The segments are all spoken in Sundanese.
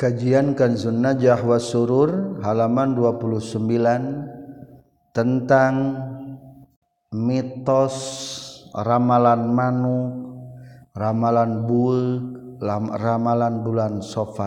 Kajian Kanzun Najah was Surur halaman 29 tentang mitos ramalan manuk, ramalan ramalan bulan Safar.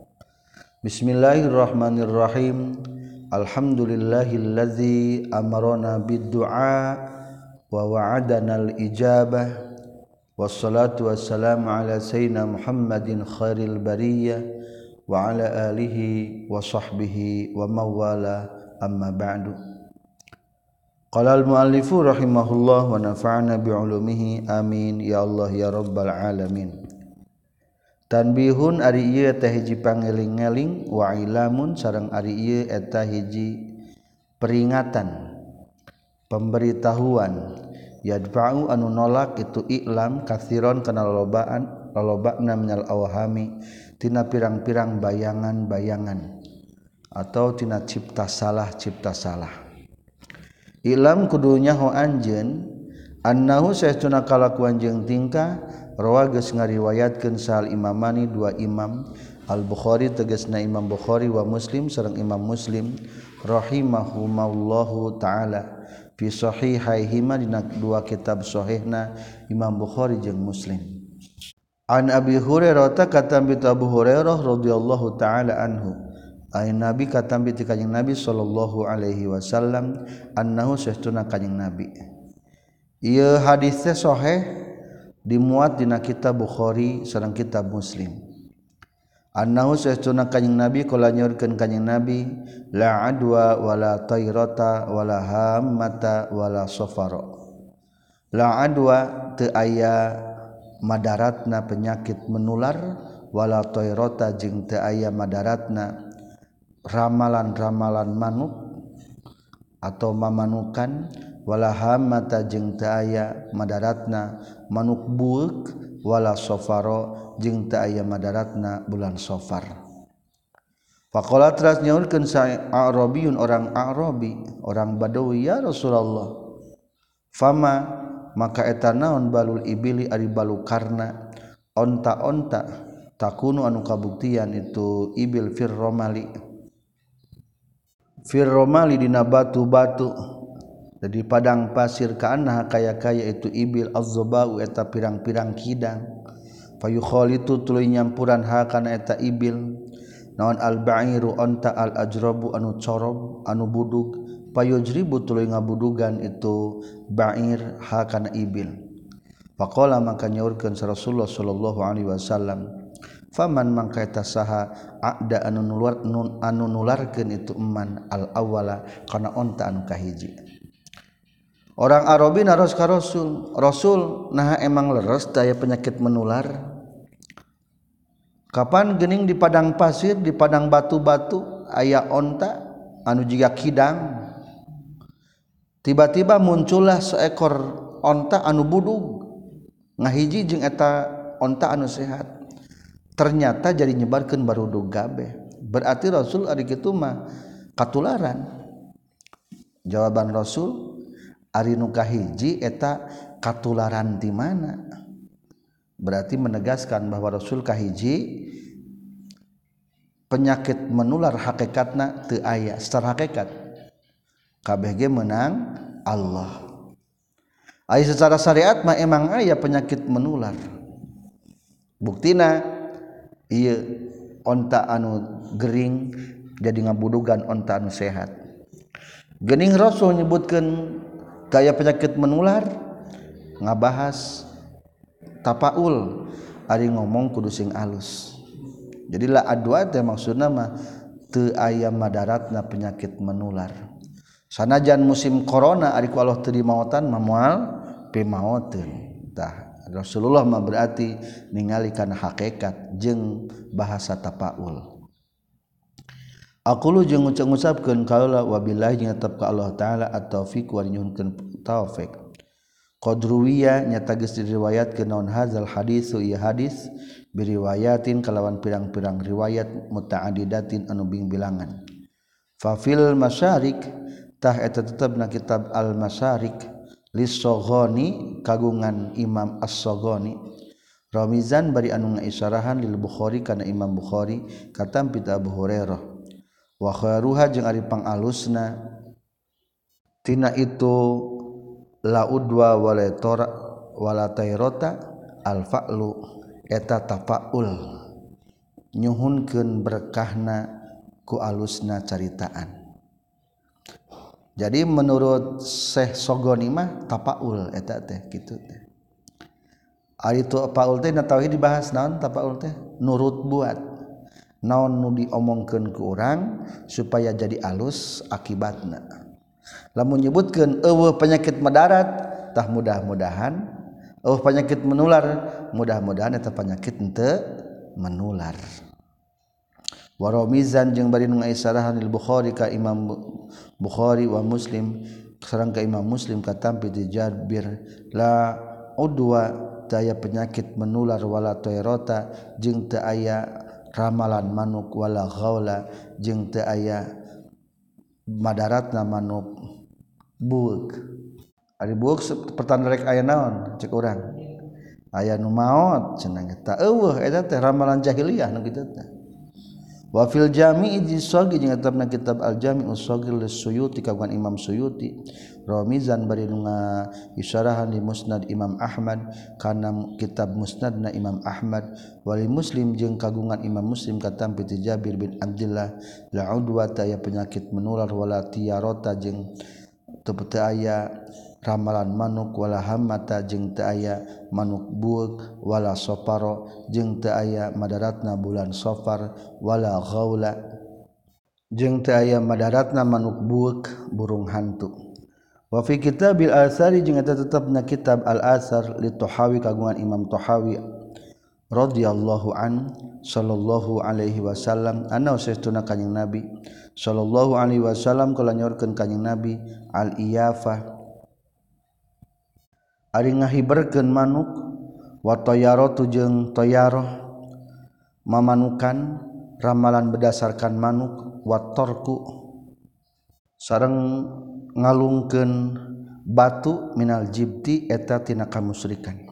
Bismillahirrahmanirrahim. Alhamdulillahilladzi amarona bid-du'a wa wa'adana al-ijabah. Wassalatu wassalamu ala sayyidina Muhammadin khairil bariyah wa ala alihi wa sahbihi wa mawala amma ba'du. Qala al-muallifu rahimahullah wa nafa'ana bi'ulumihi amin ya Allah ya rabbal alamin. Tanbihun ari ieu teh hiji pangeling-eling wa ilamun sareng ari ieu eta hiji peringatan pemberitahuan yadfa'u anu nolak itu iklam katsiron kana lolobana minal awhami tina pirang-pirang bayangan-bayangan atau tina cipta salah ilam kudunya ho anjeun annahu saestuna kalakuan jeung tingkah rawa geus ngariwayatkeun sahal imamani dua imam Al-Bukhari tegasna Imam Bukhari wa Muslim sareng Imam Muslim rahimahumallahu taala fi sahihaihima dina dua kitab sahihna Imam Bukhari jeung Muslim. An Abi Hurairah katambi Abu Hurairah radhiyallahu taala anhu ay nabi katambi ti kanjing Nabi sallallahu alaihi wasallam annahu saestuna kanjing Nabi ieu hadis teh sahih dimuat dina kitab Bukhari sareng kitab Muslim annahu saestuna kanjing Nabi kala nyorkeun kanjing Nabi la adwa wala tayrata wala hammata wala safara la adwa teu aya madaratna penyakit menular wala tayrata jeung teu aya madaratna ramalan-ramalan manuk atau mamanukan wala hammata jeung teu aya madaratna manuk buuk wala safara jeung teu aya madaratna bulan Safar. Faqala teras nyaurkeun sa A'rabiyun orang A'rabi, orang Badawi, ya Rasulullah. Fama maka eta naon balul ibili ari balukarna onta-onta takunu anu kabuktian itu ibil firromali dina batu-batu jadi padang pasir kaanna kaya-kaya itu ibil az-zabau eta pirang-pirang kidang fayukhalitu tuluy nyampuran hakana eta ibil naon al-ba'iru onta al-ajrabu anu corob anu budug payujribu tuluy ngabudugan itu ba'ir hakana ibil faqala maka nyaurkeun Rasulullah sallallahu alaihi wasallam faman mangka eta saha aqda anu nularkeun itu eman al-awwala kana onta anu kahiji. Orang Arabi naros ka Rasul nah emang leres daya penyakit menular kapan geuning di padang pasir di padang batu-batu aya onta anu jiga kidang tiba-tiba muncullah seekor onta anu budug ngahiji jeung eta onta anu sehat ternyata jadi nyebarkeun barudug gabeh berarti Rasul ari kitu mah katularan. Jawaban Rasul ari nu kahiji eta katularan di mana berarti menegaskan bahwa Rasul kahiji penyakit menular hakikatna teu aya secara hakikat kabeh ge menang Allah. Ai secara syariat mah emang aya penyakit menular. Buktina ieu onta anu gering jadi ngabudugan onta anu sehat. Geuning Rasul nyebutkeun daya penyakit menular ngabahas tapaul ari ngomong kudu sing alus. Jadi la adwa teh maksudna mah teu aya madaratna penyakit menular. Sanajan musim corona ari ku Allah teu dimaotan mah moal pimaoteun. Tah Rasulullah mah berarti ningali kana hakikat jeung bahasa tapaul. Aqulu jeung ngucap-ngucapkeun qaula wabillahi jeung tetep ka Allah taala at-taufiq wa nyuhunkeun taufik. Qadruwiya nyata geus diriwayatkeun naon hadzal hadis ieu hadis biriwayatin kalawan pirang-pirang riwayat muta'addidatin anu bing-bilangan. Fa fil masyarik tah eta tetepna kitab al-masyarik lis-Saghani kagungan Imam as-Saghani Ramizan bari anu ngaisyarahan lil Bukhari kana Imam Bukhari katam pit Abu Hurairah wa khairuha jeung ari pangalusna tina itu la udwa wala tayrota al fa'lu eta tafaul nyuhunkeun berkahna ku alusna caritaan. Jadi menurut Syekh Sogoni mah tapaul eta teh kitu teh. Ari tu tapaul teh na tauhid dibahas naon tapaul teh nurut buat. Naon nu diomongkeun ku urang supaya jadi alus akibatna. Lamun nyebutkeun eueuh penyakit madarat tah mudah-mudahan eueuh penyakit menular mudah-mudahan eta penyakit henteu menular. Wa ramizan jeung bari nu ngaisarahan lil Bukhari ka Imam Bukhari wa Muslim sareng ka Imam Muslim katampi di Jabir la udwa taya penyakit menular wala tayrota jeung teu aya ramalan manuk wala ghaula jeung teu aya madaratna manuk buuk. Ari buuk pertanda rek aya naon cek urang aya nu maot cenah eta eueuh eta teh ramalan jahiliyah nu kitu teh. Wa fil jami'i jisagi jeung etabna kitab al jami'us shaghir lis-Suyuti kagungan Imam Suyuti ramizan bari nu isyarahan di Musnad Imam Ahmad kana kitab Musnadna Imam Ahmad wali Muslim jeung kagungan Imam Muslim katampi ti Jabir bin Abdullah la udwa aya penyakit menular wala tiyarota jeung teu aya ramalan manuk wala hammata jeung teu aya manuk buuk wala soparo jeung teu aya madaratna bulan Safar wala ghaula jeung teu aya madaratna manuk buuk burung hantu. Wa fi kitabil asari jeung eta tetepna kitab al asar li Tahawi kagungan Imam Tahawi radhiyallahu an sallallahu alaihi wasallam anna usastuna kanjing Nabi sallallahu alaihi wasallam kala nyorkeun kanjing Nabi al iyafah ari ngahiberkeun manuk wa tayaratu jeung tayaroh mamanukan ramalan berdasarkan manuk wa tarku sareng ngalungkeun batu minal jibti eta tina kamusyrikan.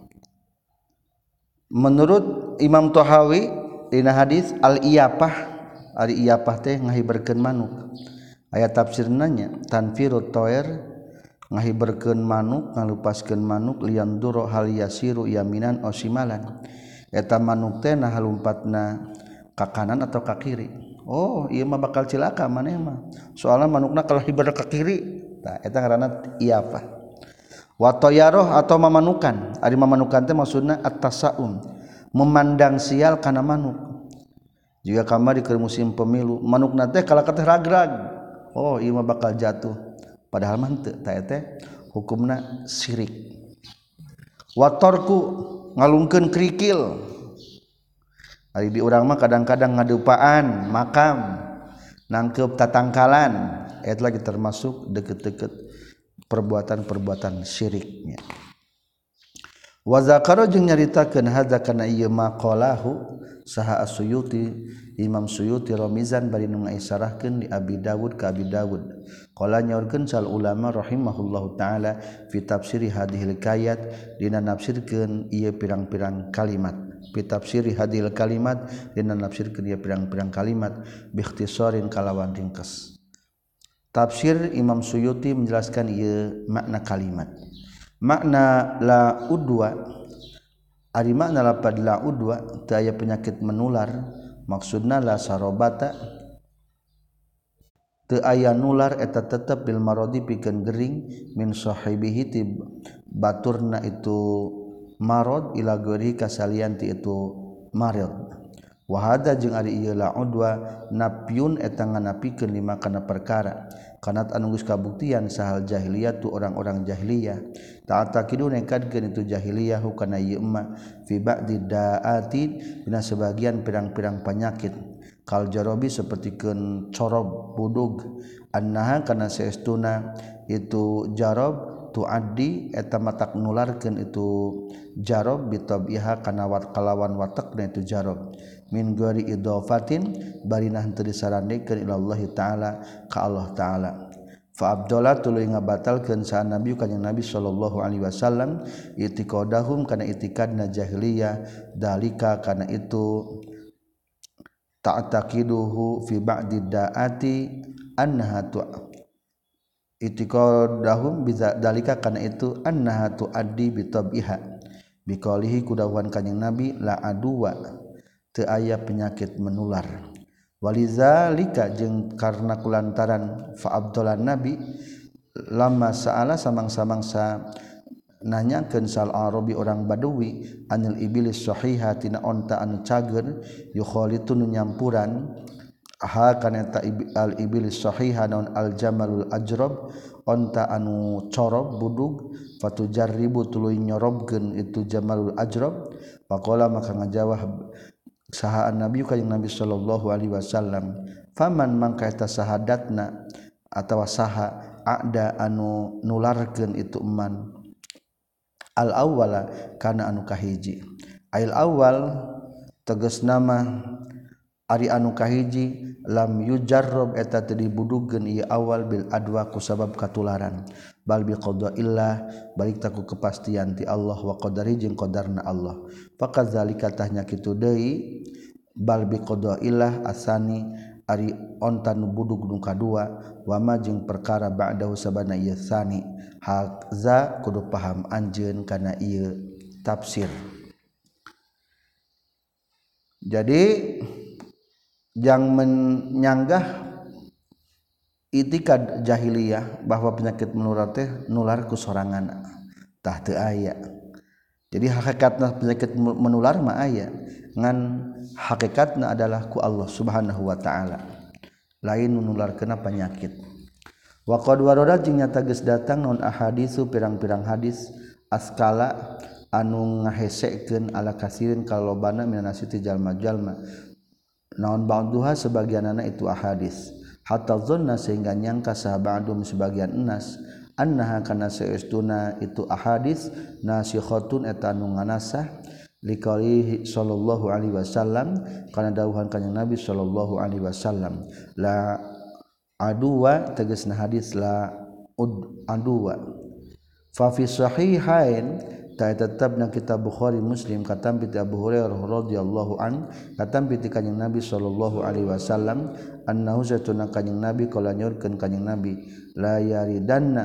Menurut Imam Tahawi dina hadis al iyafah ari iyafah teh ngahiberkeun manuk aya tafsirna nya tanfirut thair ngahiberkeun manuk ngalupaskeun manuk lian duro hal yasiru yaminan o simalan eta manuk teh nah halumpatna ka kanan atau ka kiri. Oh ieu mah bakal cilaka maneh mah soalna manukna kalau hiber ka kiri tah eta ngaranna iyafah. Wa tayaroh atau mamanukan ari mamanukan teh maksudna at-tasaum memandang sial kana manuk. Jika kamari keur musim pemilu manukna teh kalaka teh ragrag oh ieu mah bakal jatuh padahal mah teu tah teh hukumna syirik. Wa tarku ngalungkeun krikil ari di urang mah kadang-kadang ngadupaan makam nangkep tatangkalan eta lagi termasuk deket-deket perbuatan-perbuatan syiriknya. Wa zakara jeung nyaritakeun hadza kana ieu maqalahu saha as-Suyuti Imam Suyuti ramizan bari nu ngaisarahkeun di Abi Dawud ka Abi Dawud qala nyaurkeun sal ulama rahimahullahu taala fi tafsiri hadhil kayat dina nafsirkeun ieu pirang-pirang kalimat fi tafsiri hadhil kalimat dina nafsirkeun ieu pirang-pirang kalimat bi ikhtisarin kalawan ringkes. Tafsir Imam Suyuti menjelaskan ieu makna kalimat. Makna la udwa ari makna lapad la udwa teu aya penyakit menular maksudna la sarobata teu aya nular eta tetep bil maradi pikeun gering min sahibihi ti baturna itu marad ila ghairi kasalian ti itu marad. Wa hada jeung ari ieu la udwa nafyun eta nganapikeun lima kana perkara kanat anu geus kabuktian sahal jahiliyah tu orang-orang jahiliyah ta'atakidu nekadkeun itu jahiliyah kana ieu emma fi ba'di da'ati dina sebagian pirang-pirang penyakit kal jarobi sapertikeun corob budug annaha kana saestuna itu jarob tuaddi eta matak nularkeun itu jarob bitabiha kana kalawan watakna itu jarob min ghairi idafatin bari nah teu disarandekeun ila Allah taala ka Allah taala fa abdallah tuluy ngabatalkeun sa nabi kanjing nabi sallallahu alaihi wasallam itiqadahum kana itikadna jahiliyah dalika kana itu ta'taqiduhu fi ba'di da'ati annaha itiqadahum bidzalika kana itu annaha tuaddi bi tabiha biqalihi kudawan kanjing nabi la aduwa teu aya penyakit menular walizalika jeung karna kulantaran fa abdolan nabi lama saala samang-samangsa nanyakeun sal arabi orang badui anil iblis sahiha tina onta anu cager yukhalitu nu nyampuran ha kana ta al iblis sahiha naun al jamalul ajrab onta anu corob budug fatujarribu tuluy nyorobkeun itu jamalul ajrab faqala maka ngajawab saha nabi kanjing nabi sallallahu alaihi wasallam faman mangka eta sahadatna atawa saha ada anu nularkeun itu eman al awwala kana anu kahiji ail awal tegas nama ari anu kahiji lam yujarrab eta teu dibudugkeun ieu awal bil adwa ku sabab katularan bal bi qadaillah balik taku kepastian ti Allah wa qadari jeung qadarna Allah fakadzalika tahnya kitu deui bal bi qadaillah asani ari onta nu budug nu kadua wa ma jeung perkara ba'dahu sabana ieu sani hakza kudu paham anjeun kana ieu tafsir. Jadi yang menyanggah itikad jahiliyah bahwa penyakit menular teh nular ku sorangan tah teu aya. Jadi hakikatna penyakit menular mah aya ngan hakikatna adalah ku Allah Subhanahu wa taala lain nularkeun penyakit. Wa qad warada jeung nyata geus datang naon ahadisu pirang-pirang hadis askala anu ngahesekeun ala kasirin kalobana minanasi ti jalma-jalma naon ba'duha sebagianana itu ahadis hatta zanna sehingga nyangka sahabadum sebagian enas annaha kana saestuna itu ahadis nasikhatun eta anu nganasah liqalihi sallallahu alaihi wasallam kana dawuhan kanjing Nabi sallallahu alaihi wasallam la aduwa tegasna hadis la aduwa fa fi sahihain ta tetapna kitab Bukhari Muslim katam bi Abu Hurairah radhiyallahu an katam bi kanjing Nabi sallallahu alaihi wasallam annahu satuna kanjing Nabi kala nyorkeun kanjing Nabi la yaridanna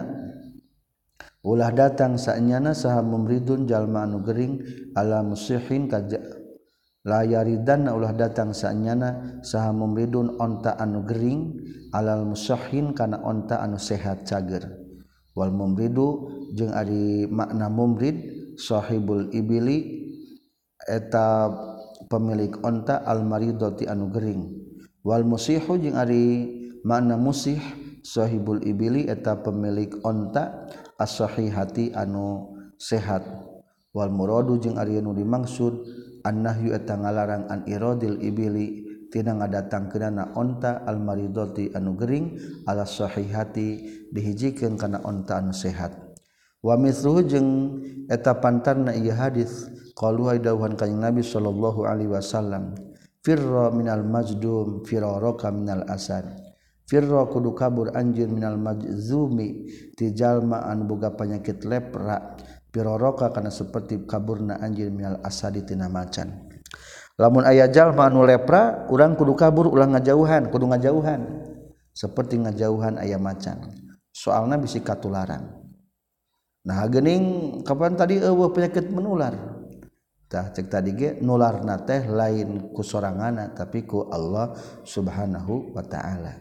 ulah datang saenyana saha mumridun jalma anu gering ala musihin kaja la yaridanna ulah datang saenyana saha mumridun onta anu gering alal musahin kana onta anu sehat cager wal mumridu jeung ari makna mumrid sahibul ibili eta pemilik onta al maridati anu gering wal musihu jeung ari makna musih sahibul ibili eta pemilik onta as-sahihati anu sehat wal muradu jeung ari anu dimaksud annahyu eta ngalarang an iradil ibili tina ngadatangkeunna onta al maridati anu gering ala sahihati dihijikeun kana onta anu sehat wa mithluhu jeung eta pantarna ieu hadis qalu dawuhan kanjing Nabi sallallahu alaihi wasallam firra minal majdum firaraka minal asad firra kudu kabur anjeun minal majzumi ti jalma anu boga penyakit lepra firaraka kana seperti kaburna anjeun minal asadi tina macan. Lamun aya jalma anu lepra urang kudu kabur ulang ngajauhan kudu ngajauhan seperti ngajauhan aya macan soalna bisi katularan. Nah geuning kapan tadi eueuh penyakit menular tah cek tadi ge nularna teh lain ku soranganna tapi ku Allah Subhanahu wa taala.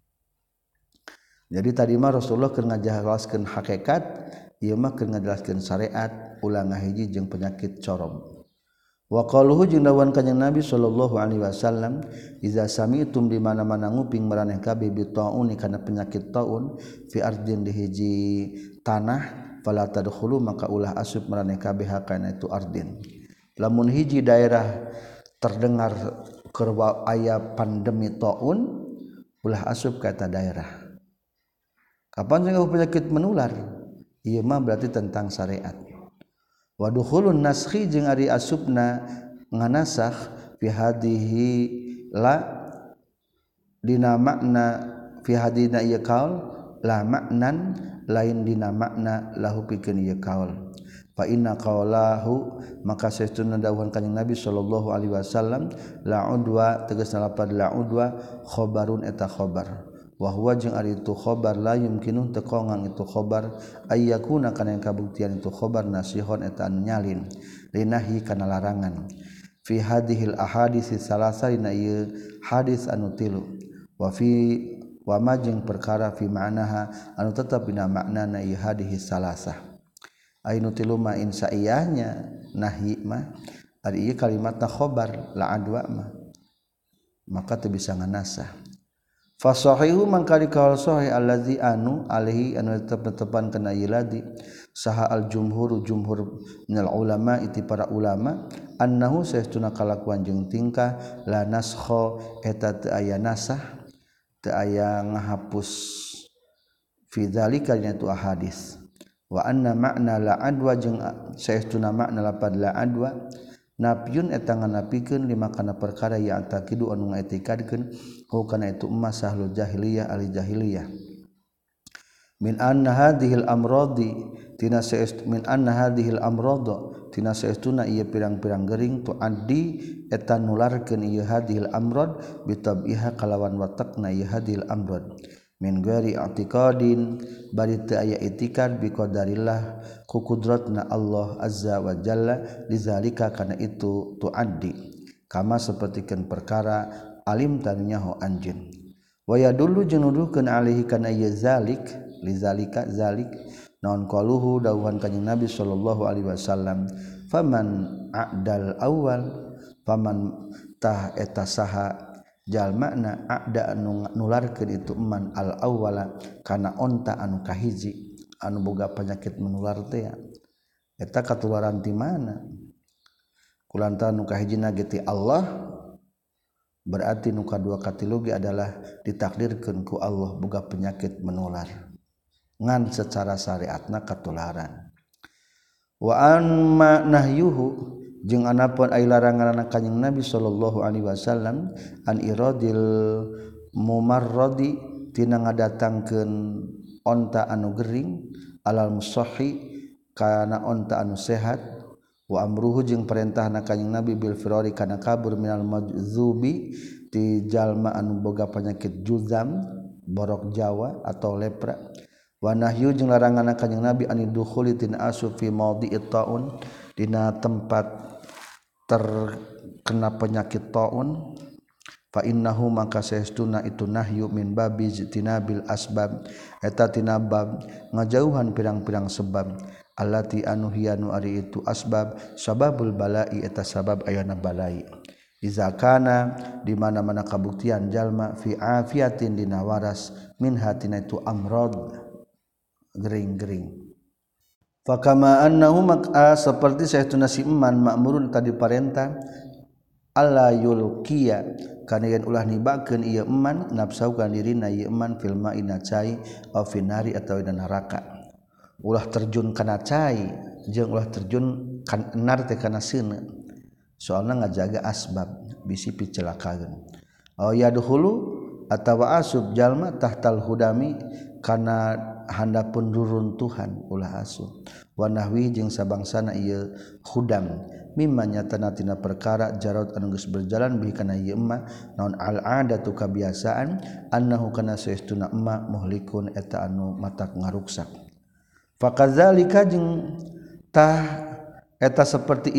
Jadi tadi mah Rasulullah keur ngajelaskeun hakikat ieu mah keur ngajelaskeun syariat ulang ngahiji jeung penyakit corob. Wa qaluhu jeung dawuhan kanjing Nabi sallallahu alaihi wasallam iza sami'tum di mana-mana nguping maraneh kabeh bi taun kana penyakit taun fi ardin di hiji tanah fala tadkhulu maka ulah asup maraneh kabeh kana itu ardin lamun hiji daerah terdengar keur aya pandemi taun ulah asup ka eta daerah kapan jeung penyakit menular ieu mah berarti tentang syariat. Wa dukhulun naskhi jeung ari asupna nganasakh fi hadhihi la dina makna fi hadina ieu kaul la maknan lain dina makna lahu pikeun ieu kaul fa inna qaulahu maka saestuna dawuhan kanjing Nabi sallallahu alaihi wasallam la udwa tegasna lapad la udwa khabarun eta khabar wa huwa jeung ari itu khabar la yumkinu teu kongang itu khabar ayyakuna kana yang kabuktian itu khabar nasihon eta anu nyalin linahi kana larangan fi hadhil ahadits salasa dina ieu hadis anu tilu wa fi wa majeng perkara fi ma'naha anu tetep dina maknana ieu hadis salasa ainu tilu ma insaiyahnya nahi mah ari ieu kalimatna khabar la adwa mah maka teu bisa nganasah fa sahihu mangka dikaul sahih allazi anu alaihi anu tetep-tetepan kana ieu ladi saha al jumhur minal ulama iti para ulama annahu saestuna kalakuan jeung tingkah la naskha eta teu aya nasah teu aya ngahapus fi dzalika dina tu ahadits wa anna makna la adwa jeung saestuna makna lapad la adwa nafyun eta nganapikeun lima kana perkara yang takidu anu ngaetikadkeun kana itu emas sahlul jahiliyah ali jahiliyah min anna hadhil amradi tina saestu min anna hadhil amrada tina saestuna ieu pirang-pirang gering tu addi eta nularkeun ieu hadhil amrad bitabiha kalawan watakna ieu hadhil amrad min ghairi i'tiqadin bari teu aya i'tiqad bi qadarillah ku kudratna Allah azza wa jalla lizalika kana itu tuaddi kama sapertikeun perkara alim tanya ho anjeun wa yadullu jeung nuduhkeun alaihi kana ieu zalik lizalika zalik naon qaluhu dawuhan kanjing Nabi sallallahu alaihi wasallam faman a'dal awal faman tah eta saha jalmana a'da anu nularkeun itu man al awwala kana onta anu kahiji anu boga penyakit menular teh eta katularan ti mana kulantaran nu kahijina ge ti Allah berarti nu kadua katilu ge adalah ditakdirkeun ku Allah boga penyakit menular ngan secara syariatna katularan wa amma nahyuhu jeung anapun ai larangan kanjing Nabi sallallahu alaihi wasallam an iradil mumarradi tina ngadatangkeun onta anu gering alal musahhi kana onta anu sehat wa amruhu jeung perintahna kanjing Nabi bil firari kana kabur minal madzubi ti jalma anu boga penyakit juzam borok Jawa atau lepra wa nahyu jeung larangan kanjing Nabi anidukhuli tina asub fi maudhi'it taun dina tempat terkena penyakit taun fa innahu maka saestuna itu nahyu min babi tinabil asbab eta tina bab ngajauhan pirang-pirang sebab allati anu hiyanu ari itu asbab sababul balai eta sabab ayana balai iza kana di mana-mana kabuktian jalma fi afiatin dina waras min hatina itu amrad gering-gering fakama annahu maka seperti saestuna si eman makmurun tadi parentah alla yulqiya kana yen ulah nibakeun ieu eman nafsu kana dirina ieu eman fil ma'ina cai aw finari atawa dina neraka ulah terjun kana cai jeung ulah terjun kan enar teh kana seuneu soalna ngajaga asbab bisi picelakakeun aw yadkhulu atawa asub jalma tahtal hudami kana handapun ruruntuhan ulah asup wa nahwi jeung sabangsana ieu hudam mimma nyatana tina perkara jarot anu geus berjalan bihi kana ieu emma naon al adatu kabiasaan annahu kana saestuna emma muhlikun eta anu matak ngaruksak fakadzalika jeung tah eta seperti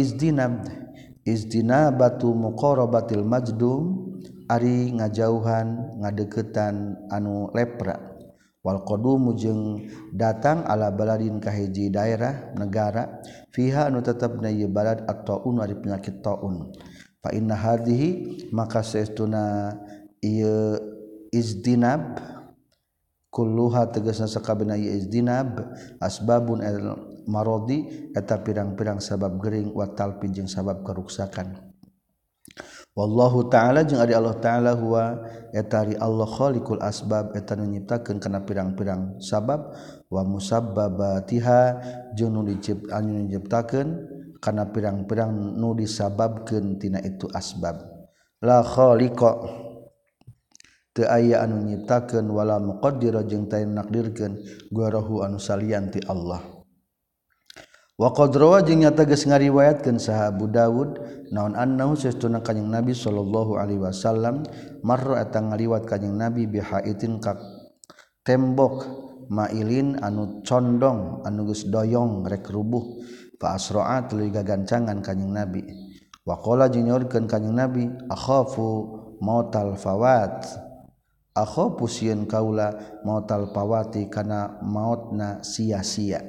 izdinabatu muqarabatil majdum ari ngajauhan ngadeuketan anu lepra wal qadumu jeung datang ala baladin kahiji daerah negara fiha anu tetepna ieu balad at-taun ari penyakit taun fa inna hadhihi maka saestuna ieu izdinab kulluha tegasna sakabehna ieu izdinab asbabun al maradi eta pirang-pirang sabab gering wa talpi jeung sabab karuksakan wallahu ta'ala jeung ari Allah ta'ala huwa eta ari Allah khaliqul asbab eta nu nyiptakeun kana pirang-pirang sabab wa musabbabatiha jeung nu diciptakeun kana pirang-pirang nu disababkeun tina itu asbab la khaliqa teu aya anu nyiptakeun wala muqaddir jeung teu nakdirkeun guarahu anu salian ti Allah. Wa qad rawa jeung nyata geus ngariwayatkeun saha Abu Dawud naon annahu sesuna kanjing Nabi sallallahu alaihi wasallam marra eta ngaliwat kanjing Nabi bihaitin ka tembok mailin anu condong anu geus doyong rek rubuh fa asra'a tuluy gagancangan kanjing Nabi. Wa qala jeung nyaurkeun kanjing Nabi akhafu mautal fawat akhafu sieun kaula mautal fawati kana mautna sia-sia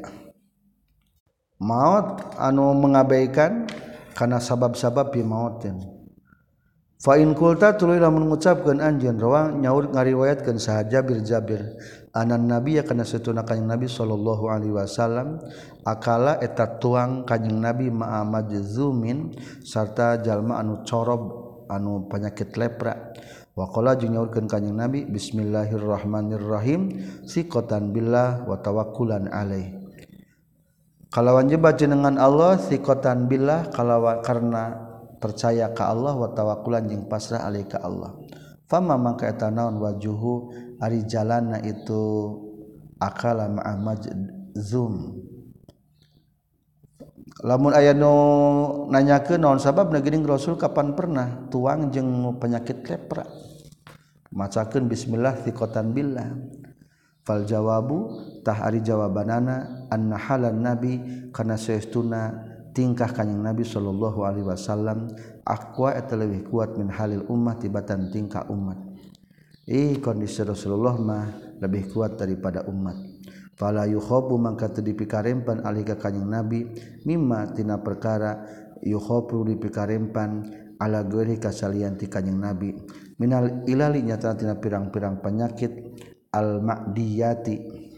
maut anu mengabaikan kana sabab-sabab bi mautin. Fa in qulta tuluy lamun ngucapkeun anjeun rawa nyaur ngariwayatkeun saha Jabir anan nabiy kana satuna kanjing Nabi sallallahu alaihi wasallam akala eta tuang kanjing Nabi ma'a majzumin sarta jalma anu corob anu penyakit lepra. Wa qala jeung nyaurkeun kanjing Nabi bismillahirrahmanirrahim siqatan billah wa tawakkulan alaih. Kalawan jebat jenengan Allah siqatan billah kalawan karena percaya ka Allah wa tawakkulan jeung pasrah alaih ka Allah. Fama mangka eta naon wajuhu ari jalanna itu akala ma'a majzum. Lamun aya nu nanyakeun naon sababna geuning Rasul kapan pernah tuang jeung penyakit lepra macakeun bismillah thiqatan billah. Fal jawabu tah ari jawabanana anna halan nabi kana saestuna tingkah kanjing Nabi sallallahu alaihi wasallam aqwa eta leuwih kuat min halil ummah tibatan tingkah umat. Kondisi Rasulullah mah lebih kuat daripada umat. Fala yukhabu mangka teu dipikarempan alih ka kanjing Nabi mimma tina perkara yukhabu dipikarempan ala geuri kasalian ti kanjing Nabi minal ilali nyata tina pirang-pirang penyakit al ma'diyati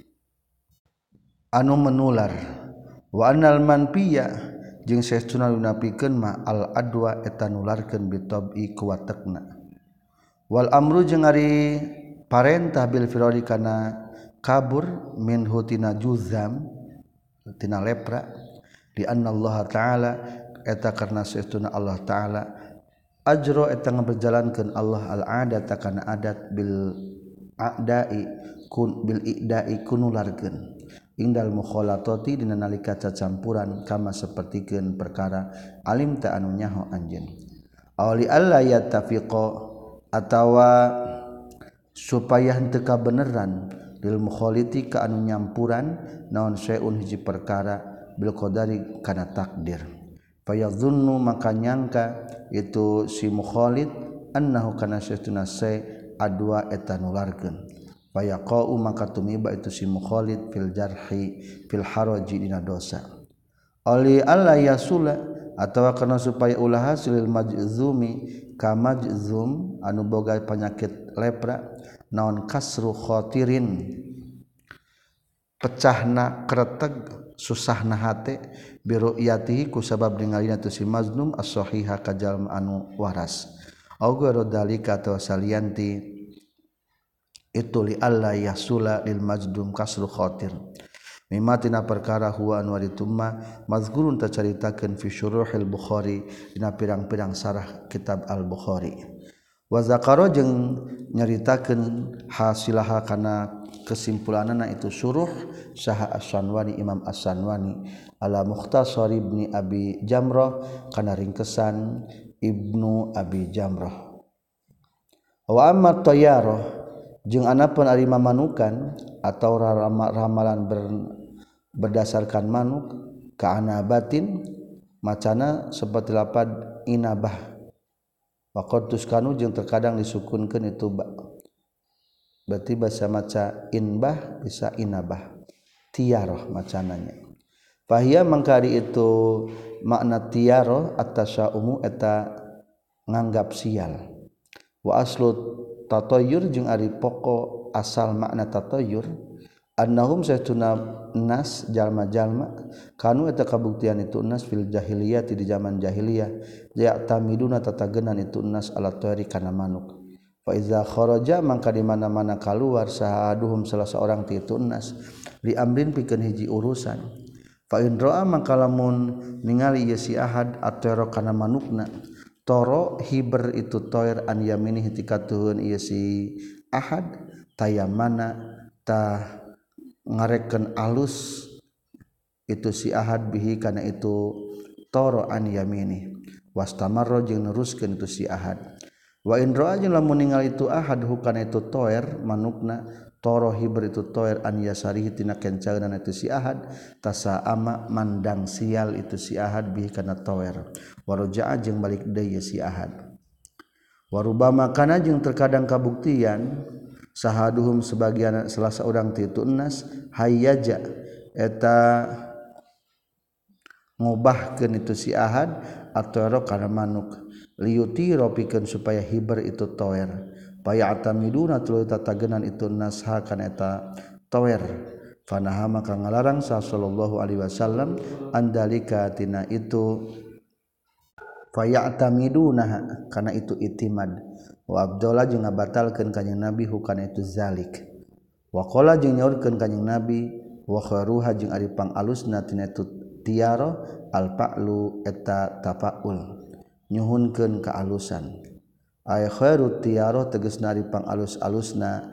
anu menular wa annal manpiya jeung saestuna lunapikeun ma al adwa eta nularkeun bitabi ku watekna wal amru jeung ari parentah bil firari kana kabur min hutina juzam tina lepra di anna Allah taala eta karna saestuna Allah taala ajro eta ngaberjalankeun Allah al adata kana adat bil a'dai kun bil i'dai kunularkeun indal mukhalatati dina nalika cacampuran kama sapertikeun perkara alim ta anu nyaho anjeun awli alla yatafiqa atawa supaya henteu kabeneran lil mukhaliti ka anu nyampuran naon saeun hiji perkara bil qadari kana takdir fayadhunnu maka nyangka itu si mukhalid annahu kana saestuna sa adwa eta nularkeun fayaqau maka tumiba itu si mukhalid fil jarhi fil haraji dina dosa ali alla yasula atawa kana supaya ulah hasil majzumi ka majzum anu boga penyakit lepra naon kasru khatirin pecahna kretek susahna hate biru'yatihi ku sabab ningalina tu si maznum as-sahiha ka jalma anu waras au garo dalika atawa salianti itu li alla yasula lil majdum kasru khatir mimma tina perkara huwa anu ditumma mazkurun tacaritakeun fi syuruhil bukhari dina pirang-pirang sarah kitab al-bukhari wa zakara jeung nyaritakeun hasilaha kana kesimpulanana itu syuruh saha as-sanwani imam as-sanwani ala mukhtasar ibni abi jamrah kana ringkesan ibnu abi jamrah wa amma tayyarah jeung anapun ari mamanukan atau ramalan berdasarkan manuk ka anabatin macana seperti lapad inabah waqatus kanu jeung terkadang disukunkeun itu ba berarti bahasa maca inbah bisa inabah tiyaroh macananya fahia mangkari itu makna tiyaroh at-tasyaumu eta nganggap sial wa aslu tatayyur jeung ari pokok asal makna tatayyur annahum saytuna nas jalma-jalma kanu eta kabuktian itu nas fil jahiliyah di zaman jahiliyah ya tamiduna tatagenan itu nas ala tayri kana manuk fa iza kharaja mangka di mana-mana keluar sahaduhum salah seorang ti itu nas li amrin pikeun hiji urusan fa in ra'a mangka lamun ningali ieu si ahad atero kana manukna toro hiber itu toir an yamini hitikatuhun ieu si ahad tayamana ta ngarekeun alus itu si ahad bihi kana itu toro an yamini wastamarra jeung neruskeun itu si ahad wa in ra'a jeung lamun ningali itu ahad hukana itu toer manukna toro hibr itu toer an yasarihi tina kencaeunan itu si ahad tasaama mandang sial itu si ahad bihi kana toer waroja'a jeung balik deui si ahad warubama kana jeung terkadang kabuktian sahaduhum sebagian salah seorang ti itu enas hayyaja eta ngobahkeun itu si ahad atau kana manuk liuti ropikeun supaya hiber itu toer paya atamiduna tuluy tatagenan itu nasha kana eta toer fanaha maka ngalarang sallallahu alaihi wasallam andalika tina itu faya atamiduna kana itu itimad wa abdullah jeung ngabatalkeun kanjing nabi hukana itu zalik wa qala jeung nyaurkeun kanjing nabi wa kharuha jeung ari pangalusna tina itu tiaro al-fa'lu eta tafaul nyuhunkeun kaalusan ay khairu tiaro tegasna ari pangalus-alusna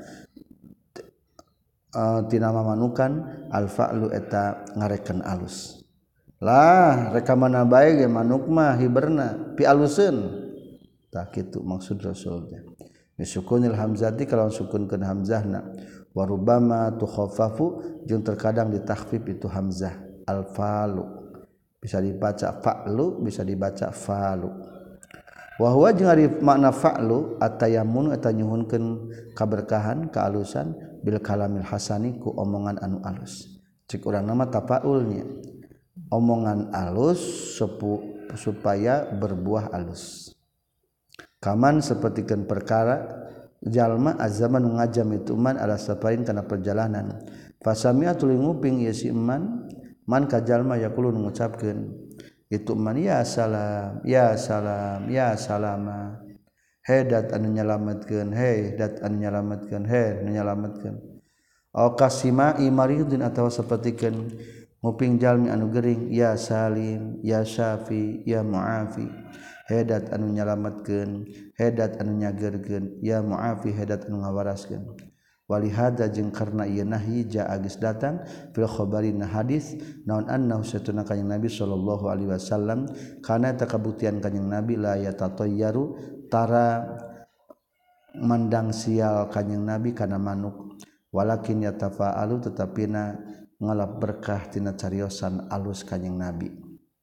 tina mamanukan al-fa'lu eta ngarekeun alus lah reka mana bae ge manuk mah hiberna pi aluseun tah kitu maksud rasulnya bisukunil hamzati kalau sukunkeun hamzahna wa rubbama tukhaffafu jeung terkadang ditakhfif itu hamzah al-falu bisa dibaca fa'lu bisa dibaca falu wa huwa jeung ari makna fa'lu atayammun eta nyuhunkeun kaberkahan kaalusan bil kalamil hasani ku omongan anu alus cik urang nama tafaulnya omongan alus supaya berbuah alus kaman sapertikeun perkara jalma azaman ngajam itu man ala safarin kana perjalanan fasami'a tuluy nguping ieu si man man kajalma yaqulu ngucapkeun itu man ya salam ya salam ya salama hedat anu nyalametkeun he dat anu nyalametkeun he anu nyalametkeun au kasima imaridin atawa sapertikeun nguping jalmi anu gering ya salim ya syafi ya muafi hedat anu nyalametkeun hedat anu nyagerkeun ya muafi hedat anu ngawaraskeun walihada jeung karna ieu nahyi jaa geus datang fil khabarina hadis naon annahu satuna kanjing Nabi sallallahu alaihi wasallam kana eta kabuktian kanjing Nabi la yatatayyaru tara mandang sial kanjing Nabi kana manuk walakin yatafa'alu tetapina ngalap berkah tina cariosan alus kanjing Nabi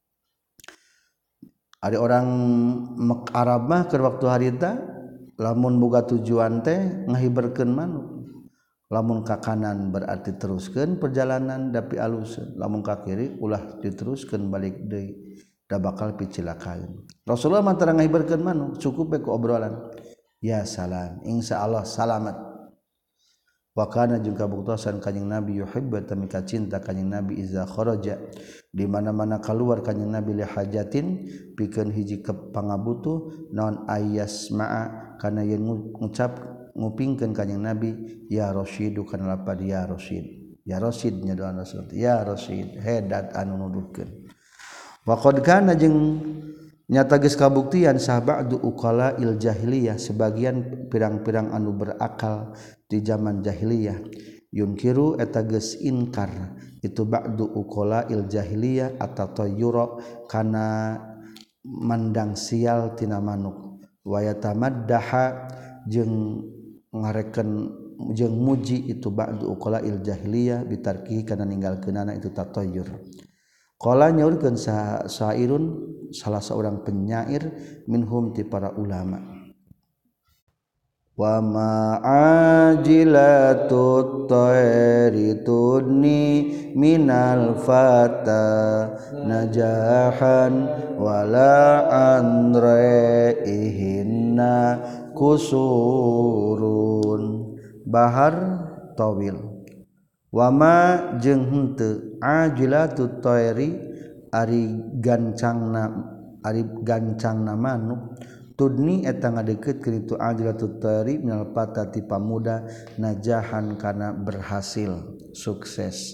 ada orang Arab mah keur waktu harita lamun boga tujuan teh ngahiberkeun manuk lamun ka kanan berarti teruskeun perjalanan dapi aluseun lamun ka kiri ulah diteruskeun balik deui da bakal picilakaeun Rasulullah mah tara ngahiberkeun manuk cukup we ku obrolan ya salam insyaallah salamat wa kana jeung kabuktosan kanjing Nabi yuhibbu tamika cinta kanjing Nabi iza kharaja di mana-mana keluar kanjing Nabi li hajatin pikeun hiji pangabutuh naon ayyasma'a kana yen ngucap ngupingkeun kanjing Nabi ya rasyidu kana lapad ya rasyid nya doa Rasul ya rasyid hedat anu nuduhkeun wa qad kana jeung nyata geus kabuktian sahabatu uqala il jahiliyah sebagian pirang-pirang anu berakal di zaman jahiliyah yunkiru eta geus inkar itu ba'du uqala il jahiliyah atatayyura kana mandang sial tina manuk wa yatamaddaha jeung ngarekeun jeung muji itu ba'du uqala il jahiliyah bitarkihi kana ninggalkeunana itu tatayyur qala nyaurkeun sairun salah seorang penyair minhum ti para ulama wa ma'ajilatut tayri tudni minal fata najahan wala anraihinna kusurun bahar tawil wama jeung henteu ajilatut tayri ari gancangna manuk tudni eta ngadeukkeutkeun itu ajilatut tayri minal patati pamuda najahan kana berhasil sukses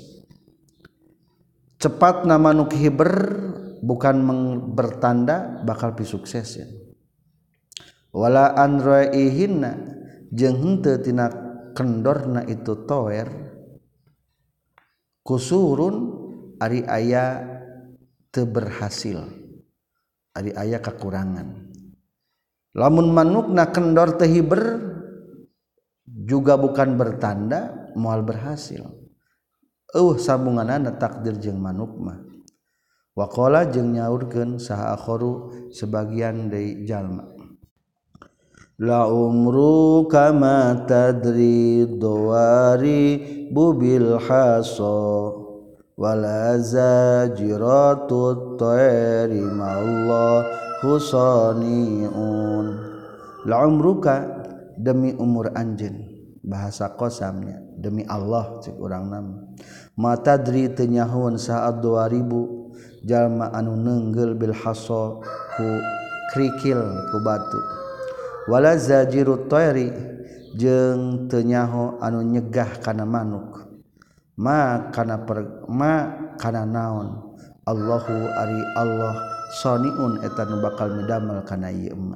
cepatna manuk hiber bukan bertanda bakal pi sukses ya wala anraihinna jeung henteu tina kendorna itu toer kusurun ari aya teu berhasil ari aya kakurangan lamun manukna kendor teu hiber juga bukan bertanda moal berhasil sambunganana takdir jeung manuk mah waqala jeung nyaurkeun saha akharu sebagian deui jalma la umru kama tadri dawari bubil haso wala zajiratu tayri mallahu saniun la umruka demi umur anjeun bahasa qasamnya demi Allah cek urang nama mata tadri teu nyahoun saat 2000 jalma anu neunggel bil haso ku krikil ku batu wala zajirut tayri jeung teu nyaho anu nyegah kana manuk ma kana naon Allahu ari Allah saniun eta nu bakal midamel kana ieu emma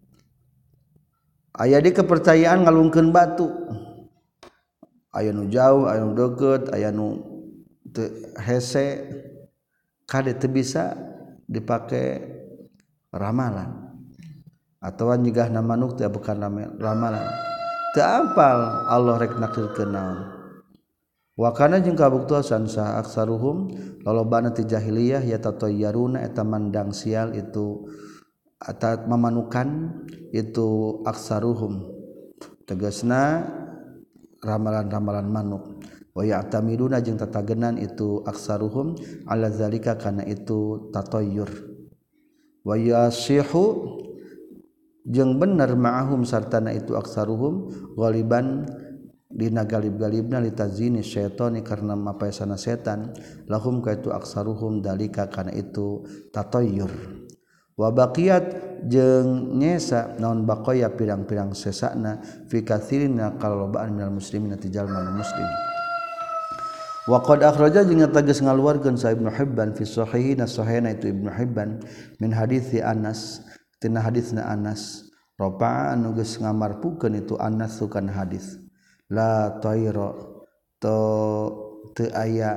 aya di kepercayaan ngalungkeun batu aya nu jauh aya nu deukeut aya nu teu hese kade teu bisa dipake ramalan atawa nyegahna manuk teh bukan ramalan teu apal Allah rek nakdirkeun naon wa kana jeung kabuktosan sa aksaruhum lolobana ti jahiliyah ya tatayyaruna eta mandang sial itu atau memanukan itu aksaruhum tegasna ramalan-ramalan manuk wa ya'tamiduna jeung tatagenan itu aksaruhum ala zalika kana itu tatayyur wa yasihu jeung bener ma'ahum sartana itu aksaruhum ghaliban dina galib-galibna litazini syaitani karena mapaesana setan lahum ka itu aksaruhum dalika kana itu tatayyur wa baqiyat jeung nyesa naon baqaya pirang-pirang sesana fi katsirin kalobaan minal muslimin ti jalma muslim wa qad akhraja jeung tegas ngaluarkeun sa Ibnu Hibban fi sahihina sahihna itu Ibnu Hibban min hadits Anas tina haditsna Anas rafa'a anu geus ngamarpukeun itu Anas sukan hadis la tayra teu aya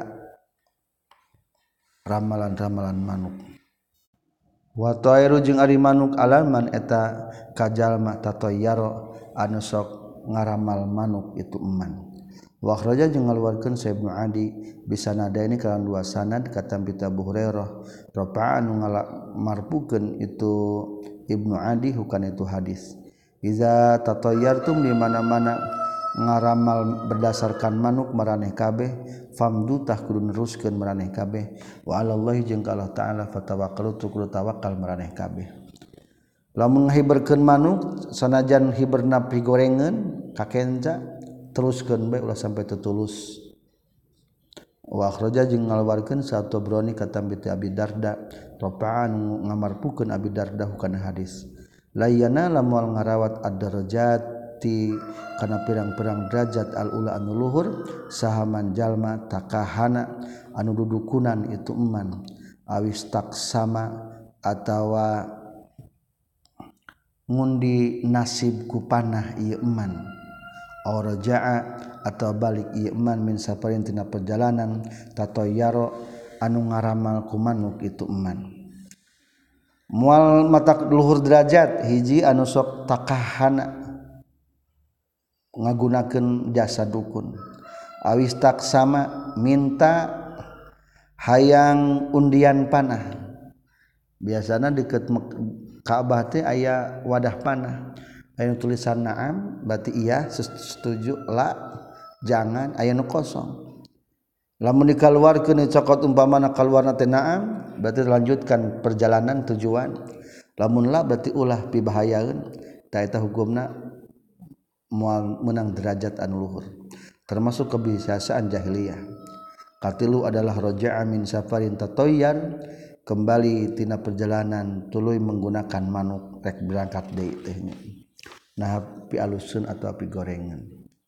ramalan-ramalan manuk wa tayru jeung ari manuk alaman eta kajalma tatayyaro anu sok ngaramal manuk itu eman wa akhraja jeung ngaluarkeun sa Ibnu Adi bisanadaini kalan dua sanad kata Abu Hurairah rafa'a anu ngamarpukeun itu Ibnu Adi hukana itu hadis iza tatayyartum di mana-mana ngaramal berdasarkan manuk maraneh kabeh famdu tah kudu neruskeun maraneh kabeh wa alallahi jeung ka Allah taala fatawakkalu kudu tawakal maraneh kabeh lamun ngahiberkeun manuk sanajan hiberna pigorengeun kakenca teruskeun bae ulah sampai tetulus wa akhraja jeung ngaluarkeun sa Tabrani kata Abi Darda rafa'an ngamarpukeun Abi Darda hukana hadis layana lamun ngarawat ad-darajat kana pirang-pirang derajat al-ula anu luhur sahaman jalma takahana anu dudukunan itu eman awis taksama atawa ngundi nasib ku panah ieu eman aw raja'a atau balik ieu eman min safarin tina perjalanan tatayyaro anu ngaramal ku manuk itu eman moal mata luhur derajat hiji anu sok takahana ngagunakeun jasa dukun awis taksama minta hayang undian panah biasana deket Ka'bah teh aya wadah panah aya tulisan na'am berarti iya setuju la jangan aya nu kosong lamun dikaluarkeun cokot umpamana kaluarna teh na'am berarti lanjutkan perjalanan tujuan lamun la berarti ulah pibahayaeun ta eta hukumna moal menang derajat anu luhur termasuk kebiasaan jahiliyah katilu adalah raja'a min safarin tatayyar kembali tina perjalanan tuluy menggunakan manuk rek berangkat deui teh nah pi alusun atau api gorengan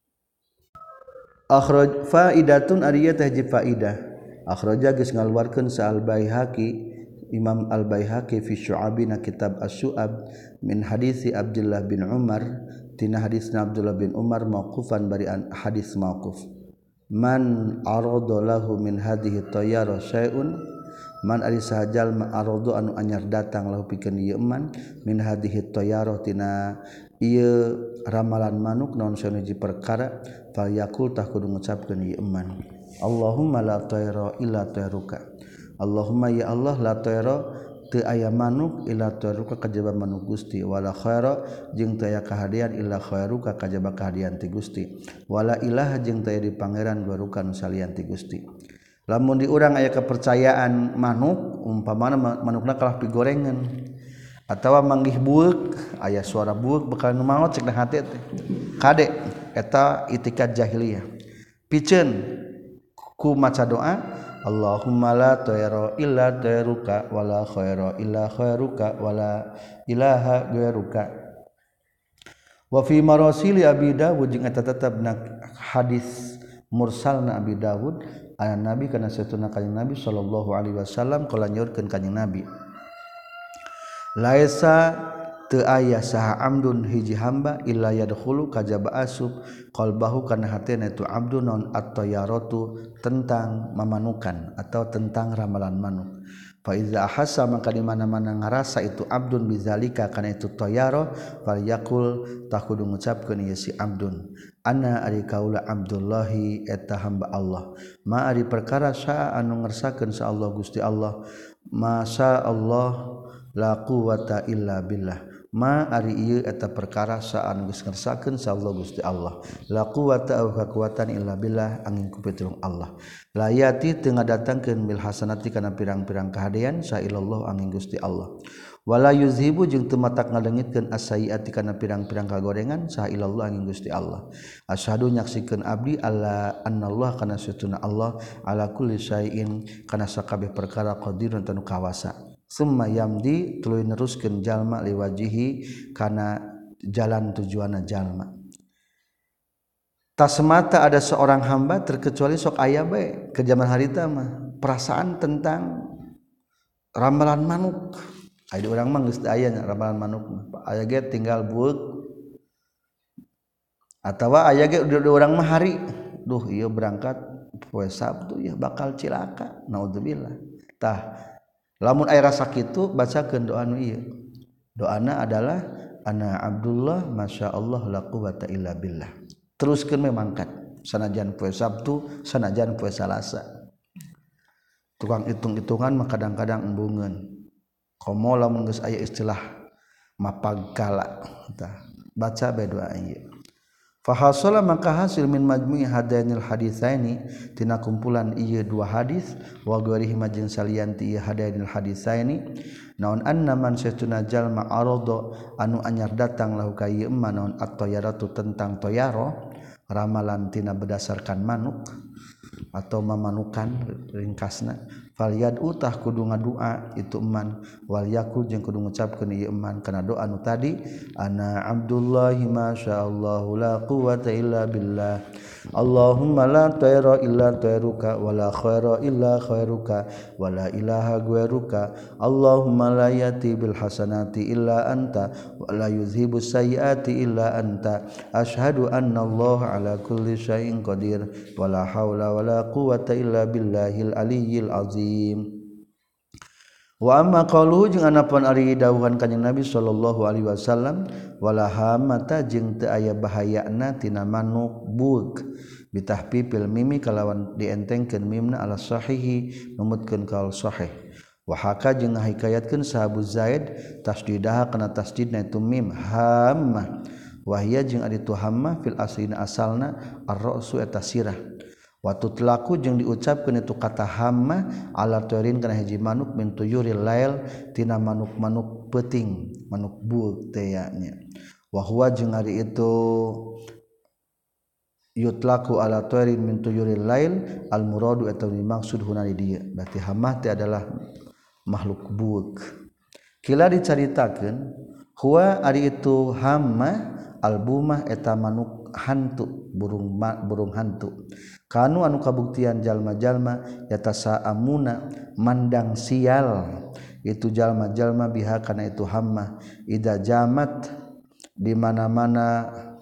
akhraj faidatun ariya teh faidah akhraja geus ngaluarkeun sa al-Baihaqi Imam Al-Baihaqi fi Syu'abina kitab Asy-Syu'ab min hadisi Abdullah bin Umar tina hadisna Abdullah bin Umar mauqufan bari hadis mauquf man arada lahu min hadhihi tayyara syai'un man ari sahajal ma arada anu anyar datang lahu pikeun ieu man min hadhihi tayyara tina ieu ramalan manuk naon sanuji perkara fal yaqul tah kudu ngucapkeun ieu man Allahumma la tayra illa tayruka Allahumma ya Allah la tayra teu aya manuk illa tayruka kajaba manuk Gusti wala khaira jeung teu aya kahadian illa khairuka kajaba kahadian ti Gusti wala ilaha jeung teu aya di pangeran guaruka nu salian ti Gusti lamun di urang aya kepercayaan manuk umpamana manukna kalah pigorengan atawa manggih bueuk aya suara bueuk bakal nu maot cek hate teh kade eta itikad jahiliyah piceun ku maca doa Allahumma la tayra illa tayruka wala khaira illa khairuka wala ilaha ghairuka wa fi marasili Abi Dawud jeung eta tetepna hadis mursalna Abi Dawud aya Nabi kana satuna kanjing Nabi sallallahu alaihi wasallam qala nyaurkeun kanjing Nabi laisa teu aya saha amdun hiji hamba illa yadkhulu kajaba asub qalbahu kana hatena itu abdun non at-tayyaratu tentang mamanukan atau tentang ramalan manuk fa iza ahassa maka di mana-mana ngarasa itu abdun bizalika kana itu tayyara fal yaqul tah kudu ngucapkeun ieu si abdun ana ari kaula abdullahi eta hamba Allah ma ari perkara sa anu ngersakeun sa Allah Gusti Allah masya Allah la quwata illa billah ma ari ieu eta perkara saan geus ngersakeun sa Allah Gusti Allah la quwata au kekuatan illa billah angin ku pitulung Allah la yati teu ngadatangkeun bil hasanati kana pirang-pirang kahadean sa ilallah angin Gusti Allah wala yuzhibu jeung teu matak ngadengitkeun as-sayyiati kana pirang-pirang kagorengan sa ilallah angin Gusti Allah asyhadu nyaksikeun abdi alla annallah kana satuna Allah ala kulli syai'in kana sakabeh perkara qadirun tanu kawasa summa yamdi tuluy neruskeun jalma liwajihi kana jalan tujuanna jalma tak semata ada seorang hamba terkecuali sok aya bae ke zaman harita mah perasaan tentang ramalan manuk aya urang mah geus aya ramalan manuk aya ge tinggal bueuk atawa aya ge urang mah hari duh ieu berangkat poe Sabtu ya bakal cilaka naudzubillah tah lamun aya rasa kitu bacakeun doa nu ieu doana adalah ana Abdullah masyaallah la quwata illa billah teruskeun we mangkat sanajan poe Sabtu sanajan poe Salasa tukang hitung-hitungan mah kadang-kadang embungeun komo lamun geus aya istilah mapagkala tah baca bae doa ieu fahasala maka hasil min majmu'i hadainil haditsaini tina kumpulan ieu dua hadis wa ghairihi majin salianti ieu hadainil haditsaini naon anna man satuna jalma arada anu anyar datang lahu ka ieu man naon at-tayyaratu tentang toyaro ramalan tina berdasarkan manuk atau mamanukan ringkasna fal yad'u tah kudu ngadua itu eman wal yakul jeung kudu ngucapkeun ieu eman kana doa anu tadi ana abdullahi masyaallah la quwata illa billah Allahumma la tayra illa tayruka wala khaira illa khairuka wala ilaha ghairuka Allahumma la yati bil hasanati illa anta wala yuzhibus sayyiati illa anta asyhadu anna Allah ala kulli syai'in qadir wala haula wala quwata illa billahil aliyyil azim wa amma qauluhu jeung anapun ari dawuhan kanjing Nabi sallallahu alaihi wasallam wala hamata jeung teu aya bahayana tina manuk bueuk bitahfifil mimi kalawan dientengkeun mimna ala sahihi numutkeun kaul sahih wa haka jeung ngahikayatkeun sahabu Zaid tasdidaha kana tasdidna itu mim hammah wahia jeung ari tu hammah fil aslina asalna ar-ra'su eta sirah waktu telaku jeung diucapkeun itu kata hamma ala turin kana hiji manuk min tuyuril lail tina manuk-manuk peuting manuk bueuk teh nya wa huwa jeung ari itu yutlaku ala turin min tuyuril lail al muradu eta dimaksud huna di dieu berarti hamma teh adalah makhluk bueuk kila dicaritakeun huwa ari itu hamma albumah eta manuk hantu burung hantu kanu anu kabuktian jalma-jalma yatasa amuna mandang sial itu jalma-jalma biha kana itu hamma ida jamat di mana-mana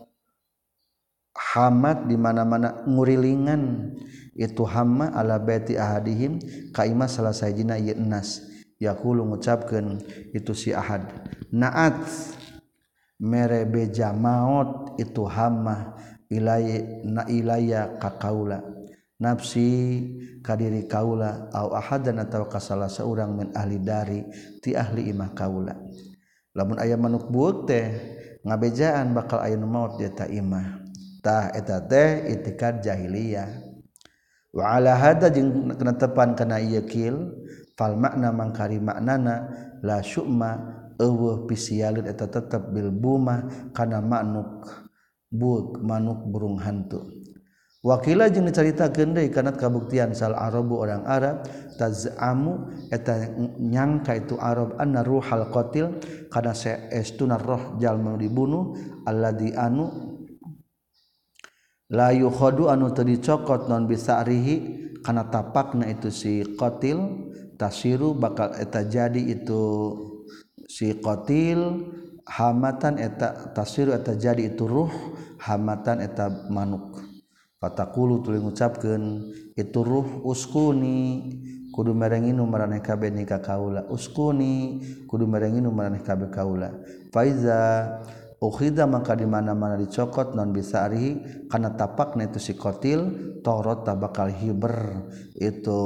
hamat di mana-mana ngurilingan itu hamma ala baiti ahadihim kaima salah sajina ieu nas yaqulu ngucapkeun itu si ahad naat mere beja maut itu hamma ilaya ka kaula nafsi kadiri kaula au ahadan atawa ka salah seorang min ahli dari ti ahli imah kaula lamun aya manuk buuk teh ngabejaan bakal aya maut dia ta imah tah eta teh itikad jahiliyah wa ala hada jeung kenetepan kana ieu kil fal makna mangkari maknana la syu'ma eueuh pisialeun eta tetep bil buma kana manuk buuk manuk burung hantu wakila jeung dicaritakeun deui kana kabuktian sal arabu orang Arab tazamu eta nyangka itu Arab anna ruhal qatil kana saestuna roh jalma dibunuh alladzi anu la yukhadu anu teu dicokot non bisarihi kana tapakna itu si qatil tasiru bakal eta jadi itu si qatil hamatan eta tasiru eta jadi itu ruh hamatan eta manuk fataqulu tuluy ngucapkeun itu ruh uskuni kudu merenginu maraneh kabeh nika kaula uskuni kudu merenginu maraneh kabeh kaula faiza ukhida maka di mana-mana dicokot non bisa arihi kana tapakna itu si qatil torot bakal hiber itu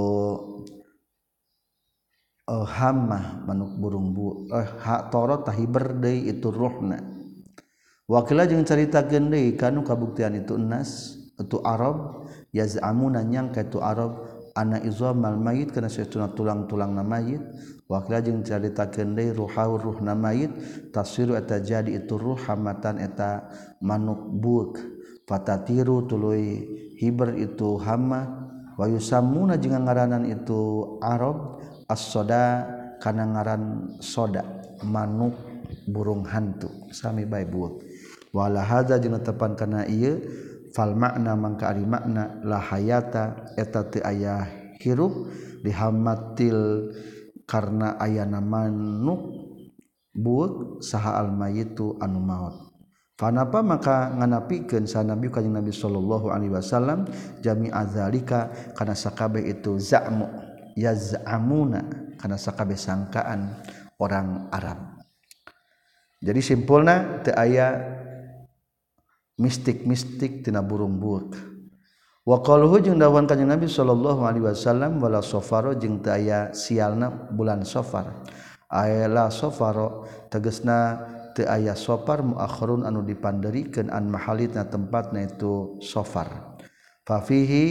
hamma manuk burung torot tahiber deui itu ruhna wakila jeung caritakeun deui kanu kabuktian itu nas itu Arab yazamuna nyangka itu Arab ana izamal mayit kana saestuna tulang-tulangna mayit wakila jeung caritakeun deui ruhna mayit tasiru eta jadi itu ruh hamatan eta manuk buuk fatatiru tuluy hiber itu hamma wa yusammuna jeung ngaranan itu Arab as-soda kana ngaran soda manuk burung hantu sami bae buuk wala hadza jeung tepan kana ieu fal makna mangka ari makna la hayata eta teu aya hirup dihamatil karna ayana manuk buuk saha al mayitu anu maut fanapa maka nganapikeun sa nabi kanjing nabi sallallahu alaihi wasallam jami'a zalika kana sakabeh itu za'mu yaz'amuna kana sakabeh sangkaan orang Arab. Jadi simpulna teu aya mistik-mistik tina burung buuk. Wa qaluhu jeung dawan kanjing Nabi sallallahu alaihi wasallam wala safaro jeung teu aya sialna bulan Safar. Ayla safaro tegasna teu aya safar muakhirun anu dipanderikeun an mahalitna tempatna itu Safar. Fa fihi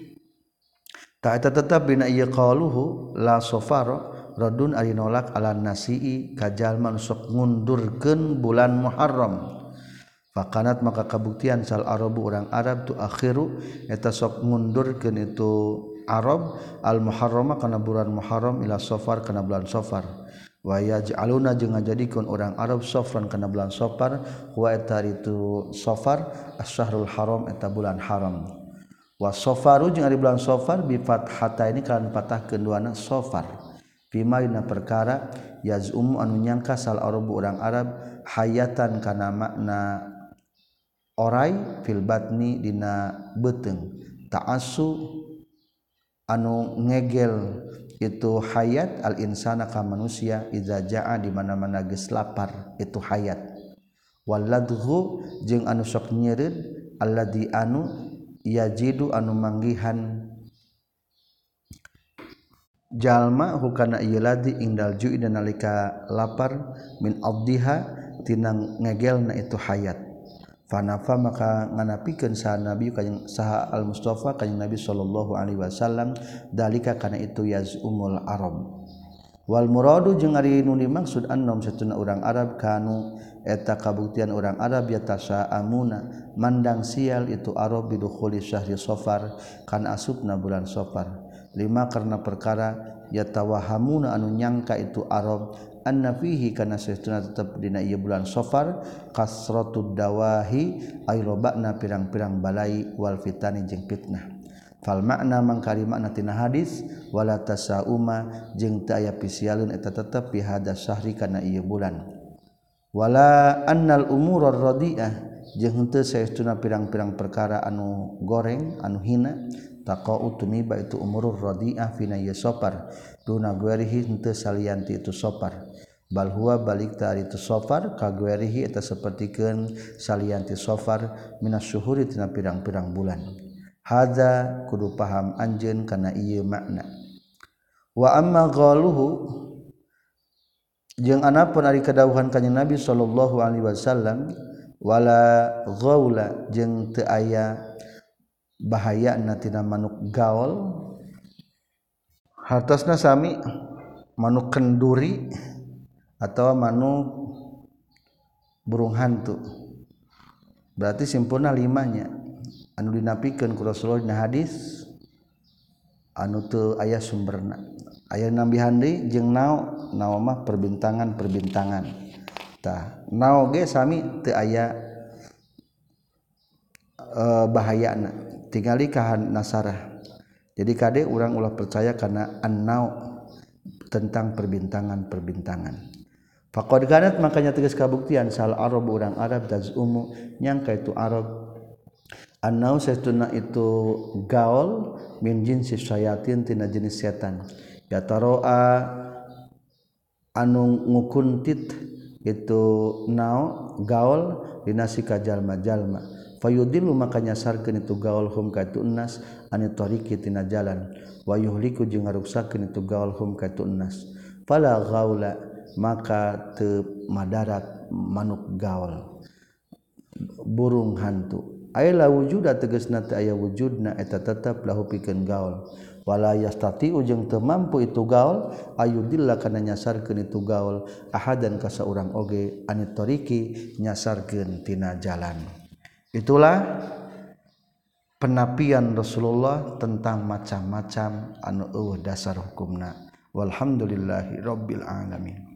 ta'ata tetap bina ieu qaluhu la safara radun ari nolak ala nasi'i kajalma sok ngundurkeun bulan Muharram fakanat maka kabuktian sal arabu orang Arab tu akhiru eta sok ngundurkeun itu Arab al Muharrama kana bulan Muharram ila Safar kana bulan Safar wa yaj'aluna jeung ngajadikeun orang Arab Safran kana bulan Safar wa eta itu Safar asy-syahrul haram eta bulan haram wa safaru jeung ari bulan safar bi fathata ini kan patah keduana safar bima dina perkara yazum anu nyangka sal arabu urang Arab hayatan kana makna orai fil batni dina beuteung ta'assu anu ngegel itu hayat al insana ka manusia iza jaa di mana-mana geus lapar itu hayat waladhu jeung anu sok nyeureud alladzi anu yajidu anu manggihan jalma hukana ieu ladi indal ju'i dan nalika lapar min abdiha tina ngegelna itu hayat fanafa maka nganapikeun saha nabi kanjing saha al mustafa kanjing nabi sallallahu alaihi wasallam dalika kana itu yazumul arab wal muradu jeung ari nu dimaksud annom satuna urang Arab kanu eta kabuktian orang Arab yatasa'amuna mandang sial itu Arab bidukhuli syahri Safar kan asupna bulan Safar lima karena perkara yatawahamuna anu nyangka itu Arab anna fihi kana saestuna tetep dina ieu bulan Safar kasratud dawahi ay robana pirang-pirang balai wal fitani jeung fitnah fal makna mangkari makna tina hadis wala tasauma jeung teu aya pisialeun eta tetep fi hada syahri kana ieu bulan wala annal umurur radiah jeung henteu saestuna pirang-pirang perkara anu goreng anu hina taqau tumiba itu umurur radiah fina yasopar duna guerihi henteu salianti itu sopar bal huwa balik ta itu sofar ka guerihi eta sapertikeun salianti sofar minas syuhuri tina pirang-pirang bulan hadza kudu paham anjeun kana ieu makna wa amma qaluhu jeung anapun ari kadawuhan kanjeng Nabi sallallahu alaihi wasallam wala ghaula jeung teu aya bahayana tina manuk gaul hartosna sami manuk kenduri atau manuk burung hantu berarti simpulna 5 nya anu dinapikeun ku Rasulullah dina hadis anu teu aya sumberna aya nambihan deui jeung nao mah perbintangan tah nao ge sami teu aya bahayana tingali kahan nasarah jadi kade urang ulah percaya kana annau tentang perbintangan faqad kanat makanya tegas kabuktian sal arab urang Arab tazumu nyangka itu Arab annau satuna itu gaul min jinsi syayatin tina jenis setan ya taroa anu ngukuntit itu nao gaul dinasika jalma-jalma fayudillu makanya sarkeun itu gaul hum ka itu nas ani tariqi tina jalan wa yuhliku jeung ngaruksakeun itu gaul hum ka itu nas fala gaula maka teu madarat manuk gaul burung hantu aya la wujuda tegasna teu aya wujudna eta tetep lahu pikeun gaul wala yastati jeung teu mampu itu gaul ayudilla kana nyasarkeun itu gaul ahadan ka saurang oge ani tariqi nyasarkeun tina jalan. Itulah penapian Rasulullah tentang macam-macam anu eueuh dasar hukumna walhamdulillahi rabbil alamin.